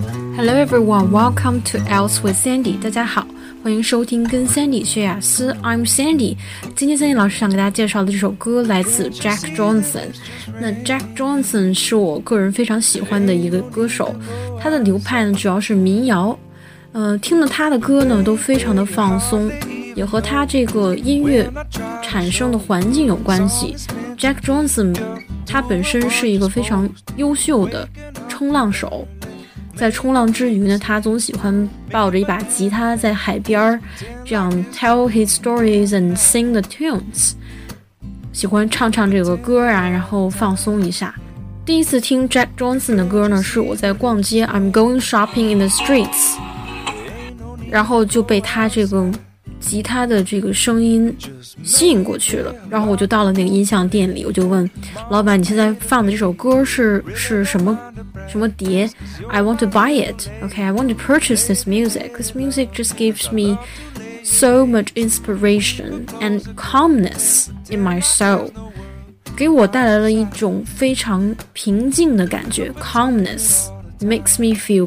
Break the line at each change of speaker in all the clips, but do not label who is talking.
Hello everyone, welcome to Else with Sandy. 大家好，欢迎收听跟 Sandy 学雅思 I'm Sandy. 今天 Sandy 老师想给大家介绍的这首歌来自 Jack Johnson. 那 Jack Johnson 是我个人非常喜欢的一个歌手，他的流派呢主要是民谣，听了他的歌呢都非常的放松，也和他这个音乐产生的环境有关系。Jack Johnson 他本身是一个非常优秀的冲浪手，在冲浪之余呢，他总喜欢抱着一把吉他在海边这样 tell his stories and sing the tunes， 喜欢唱这个歌啊，然后放松一下。第一次听 Jack Johnson 的歌呢，是我在逛街 I'm going shopping in the streets， 然后就被他这个吉他的这个声音吸引过去了，然后我就到了那个音像店里，我就问老板，你现在放的这首歌是什么碟？ I want to buy it. Okay, I want to purchase this music. This music just gives me so much inspiration and calmness in my soul. 给我带来了一种非常平静的感觉， calmness makes me feel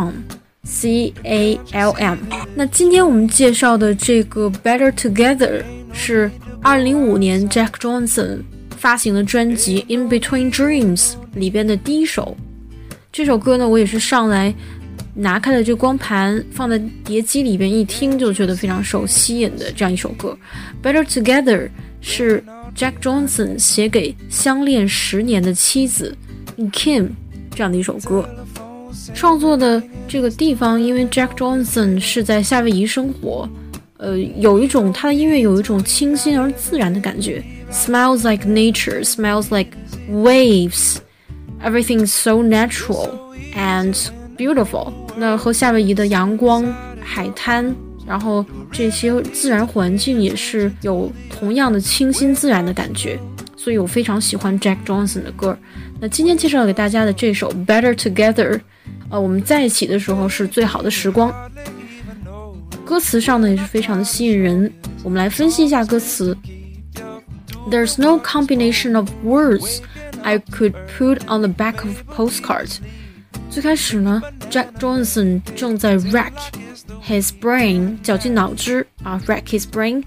calm.C-A-L-M。 那今天我们介绍的这个 Better Together 是2005年 Jack Johnson 发行的专辑 In Between Dreams 里边的第一首。这首歌呢，我也是上来拿开了这光盘放在碟机里边，一听就觉得非常受吸引的这样一首歌。 Better Together 是 Jack Johnson 写给相恋10年的妻子 Kim 这样的一首歌。创作的这个地方，因为 Jack Johnson 是在夏威夷生活，有一种他的音乐有一种清新而自然的感觉， smells like nature, smells like waves, everything is so natural and beautiful。 那和夏威夷的阳光、海滩，然后这些自然环境也是有同样的清新自然的感觉，所以我非常喜欢 Jack Johnson 的歌。那今天介绍给大家的这首 Better Together，我们在一起的时候是最好的时光。歌词上呢也是非常的吸引人，我们来分析一下歌词。 There's no combination of words I could put on the back of a postcard。 最开始呢 Jack Johnson 正在 rack his brain， 绞尽脑汁rack his brain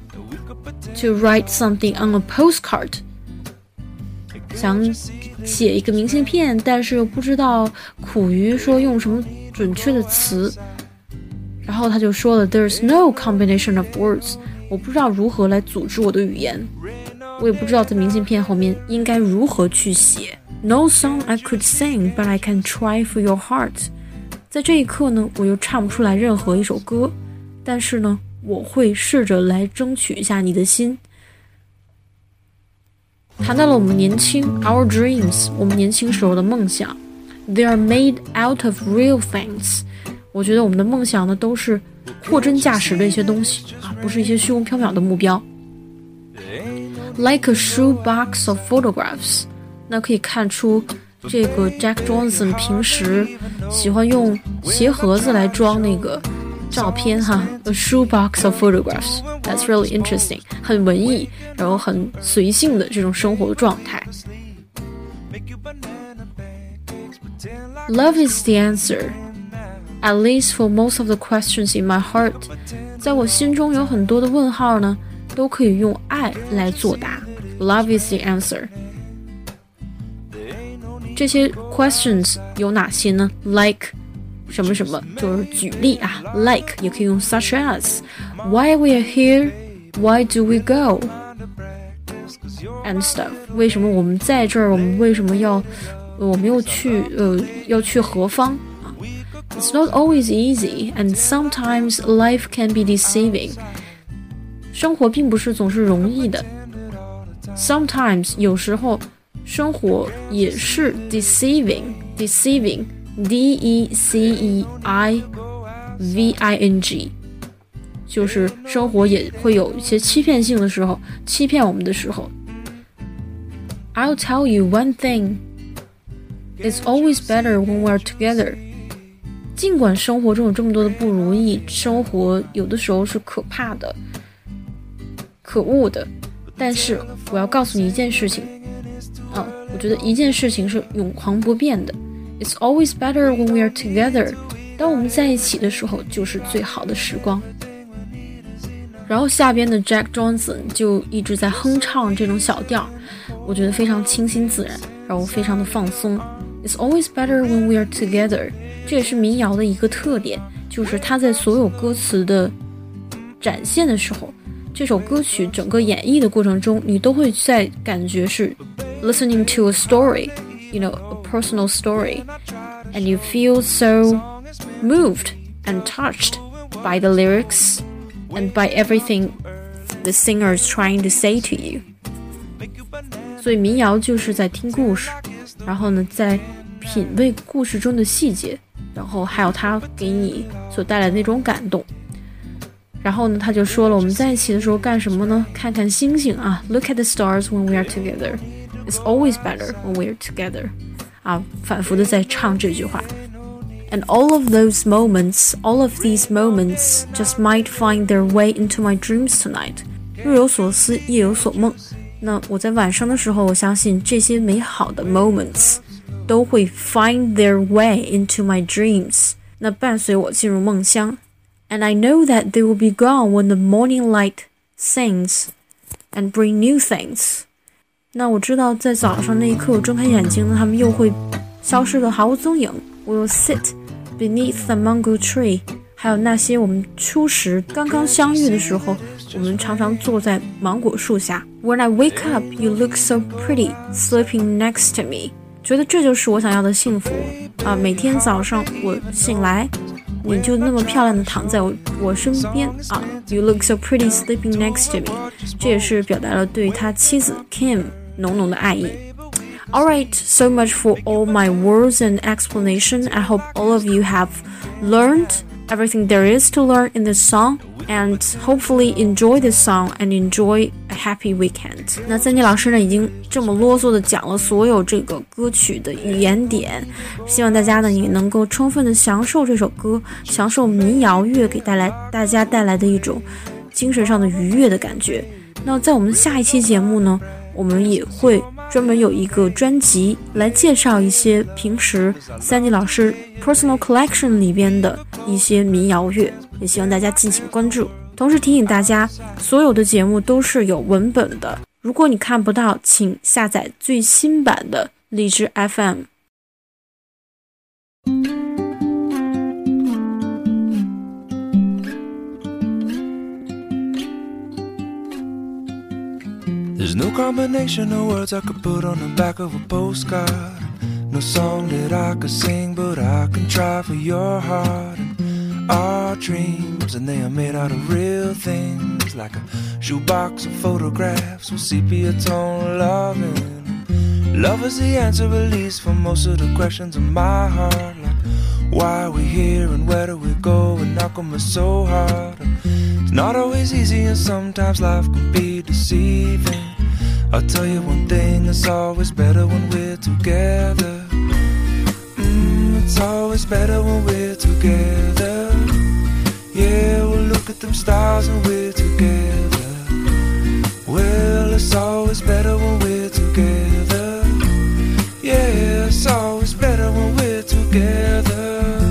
to write something on a postcard， 想写一个明信片，但是又不知道苦于说用什么准确的词，然后他就说了 There's no combination of words， 我不知道如何来组织我的语言，我也不知道在明信片后面应该如何去写。 No song I could sing, but I can try for your heart。 在这一刻呢，我又唱不出来任何一首歌，但是呢，我会试着来争取一下你的心。谈到了我们年轻 our dreams， 我们年轻时候的梦想 They are made out of real things。 我觉得我们的梦想呢都是货真价实的一些东西不是一些虚无缥缈的目标。 Like a shoebox of photographs， 那可以看出这个 Jack Johnson 平时喜欢用鞋盒子来装那个照片A shoebox of photographs. That's really interesting. 很文艺，然后很随性的这种生活的状态。 Love is the answer, at least for most of the questions in my heart. 在我心中有很多的问号呢，都可以用爱来作答。 Love is the answer. 这些 questions 有哪些呢？ Like什么什么，就是举例like 也可以用 such as why we are here, why do we go and stuff。 为什么我们在这儿，我们为什么我们又去要去何方It's not always easy, and sometimes life can be deceiving。 生活并不是总是容易的， sometimes 有时候生活也是 deceiving D-E-C-E-I-V-I-N-G， 就是生活也会有一些欺骗性的时候，欺骗我们的时候。 I'll tell you one thing, it's always better when we're together。 尽管生活中有这么多的不如意，生活有的时候是可怕的、可恶的，但是我要告诉你一件事情我觉得一件事情是永恒不变的， It's always better when we are together. 当我们在一起的时候，就是最好的时光。然后下边的 Jack Johnson 就一直在哼唱这种小调，我觉得非常清新自然，让我非常的放松。It's always better when we are together. 这也是民谣的一个特点，就是它在所有歌词的展现的时候，这首歌曲整个演绎的过程中，你都会在感觉是 listening to a story, you know, a personal story, and you feel so moved and touched by the lyrics and by everything the singer is trying to say to you. 所以民谣就是在听故事，然后呢，在品味故事中的细节，然后还有它给你所带来的那种感动。然后呢，他就说了，我们在一起的时候干什么呢？看看星星啊 ，Look at the stars when we are together. It's always better when we are together. 啊，反复的在唱这句话。And all of these moments just might find their way into my dreams tonight. 日有所思，夜有所梦。那我在晚上的时候，我相信这些美好的 moments 都会 find their way into my dreams. 那伴随我进入梦乡。And I know that they will be gone when the morning light sings and bring new things. 那我知道在早上那一刻我睁开眼睛呢，他们又会消失得毫无踪影。We will sit beneath the mango tree. 还有那些我们初时刚刚相遇的时候，我们常常坐在芒果树下。When I wake up, you look so pretty, sleeping next to me. 觉得这就是我想要的幸福啊！每天早上我醒来，你就那么漂亮的躺在我身边啊 ！You look so pretty sleeping next to me. 这也是表达了对他妻子 Kim 浓浓的爱意。Alright, so much for all my words and explanation. I hope all of you have learned everything there is to learn in this song and hopefully enjoy this song and enjoy a happy weekend. 那三妮老师呢已经这么啰嗦的讲了所有这个歌曲的语言点，希望大家呢也能够充分的享受这首歌，享受民谣乐给大家带来的一种精神上的愉悦的感觉。那在我们下一期节目呢，我们也会专门有一个专辑来介绍一些平时三妮老师 personal collection 里边的一些民谣乐，也希望大家敬请关注。同时提醒大家，所有的节目都是有文本的，如果你看不到，请下载最新版的荔枝 FM。
There's no combination of words I could put on the back of a postcard. No song that I could sing, but I can try for your heart. And our dreams, and they are made out of real things, like a shoebox of photographs with sepia tone loving. Love is the answer, at least, for most of the questions in my heart. Like, why are we here and where do we go, and how come it's so hard? It's not always easy, and sometimes life can be deceiving. I'll tell you one thing, it's always better when we're together. It's always better when we're together. Yeah, we'll look at them stars and we're together. Well, it's always better when we're together. Yeah, it's always better when we're together.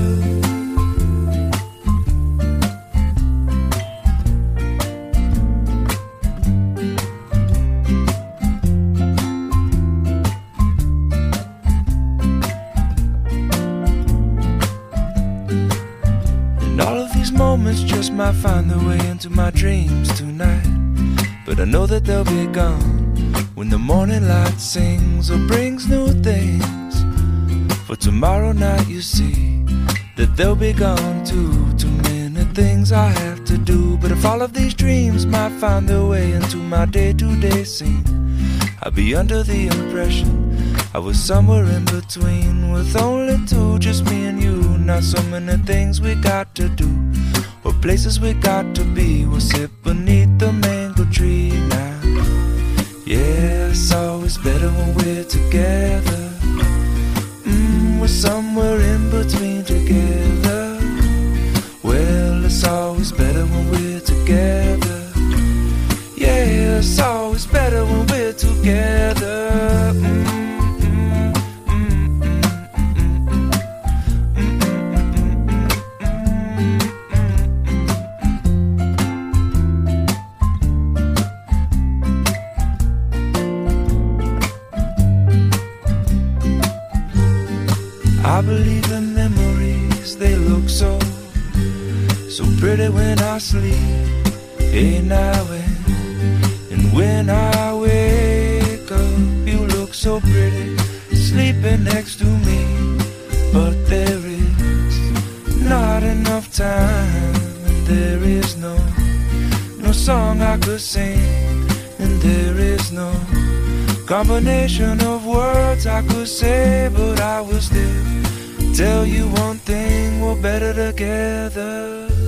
Moments just might find their way into my dreams tonight, but I know that they'll be gone when the morning light sings or brings new things. For tomorrow night you see that they'll be gone too. Too many things I have to do, but if all of these dreams might find their way into my day-to-day scene, I'd be under the impression I was somewhere in between, with only two, just me and you. Not so many things we got to do, or places we got to be. We'll sit beneath the mango tree now. Yeah, it's always better when we're together. We're somewhere in between together. Well, it's always better when we're together. Yeah, it's always better when we're together. pretty when I sleep. Hey, now and when I wake up, you look so pretty, sleeping next to me. But there is not enough time, and there is no song I could sing, and there is no combination of words I could say, but I will still tell you one thing, we're better together.